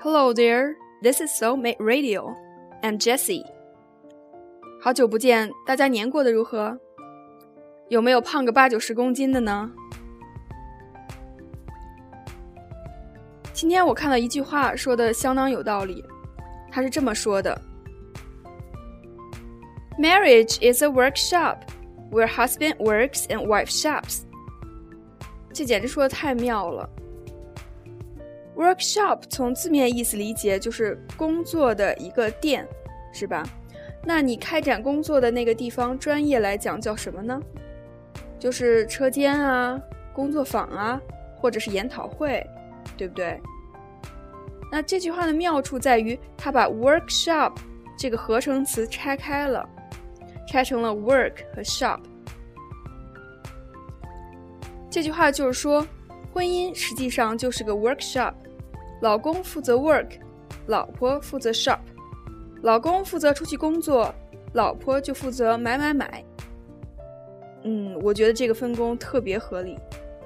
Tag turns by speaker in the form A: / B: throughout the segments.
A: Hello there, this is Soulmate Radio. I'm Jessie. 好久不见，大家年过得如何？有没有胖个80-90公斤的呢？今天我看到一句话说的相当有道理，他是这么说的 Marriage is a workshop where husband works and wife shops. 这简直说的太妙了。Workshop 从字面意思理解就是工作的一个店，是吧？那你开展工作的那个地方专业来讲叫什么呢？就是车间啊，工作坊啊，或者是研讨会，对不对？那这句话的妙处在于它把 workshop 这个合成词拆开了，拆成了 work 和 shop。 这句话就是说婚姻实际上就是个 workshop， 老公负责 work， 老婆负责 shop， 老公负责出去工作，老婆就负责买。我觉得这个分工特别合理。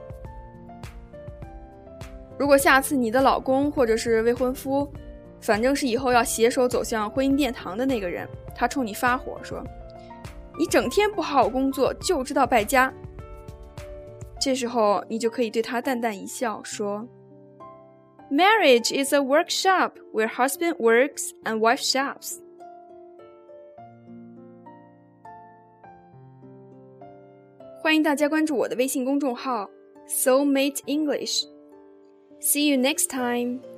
A: 如果下次你的老公或者是未婚夫，反正是以后要携手走向婚姻殿堂的那个人，他冲你发火说，你整天不好好工作，就知道败家。这时候你就可以对他淡淡一笑说， Marriage is a workshop where husband works and wife shops. 欢迎大家关注我的微信公众号 Soulmate English. See you next time.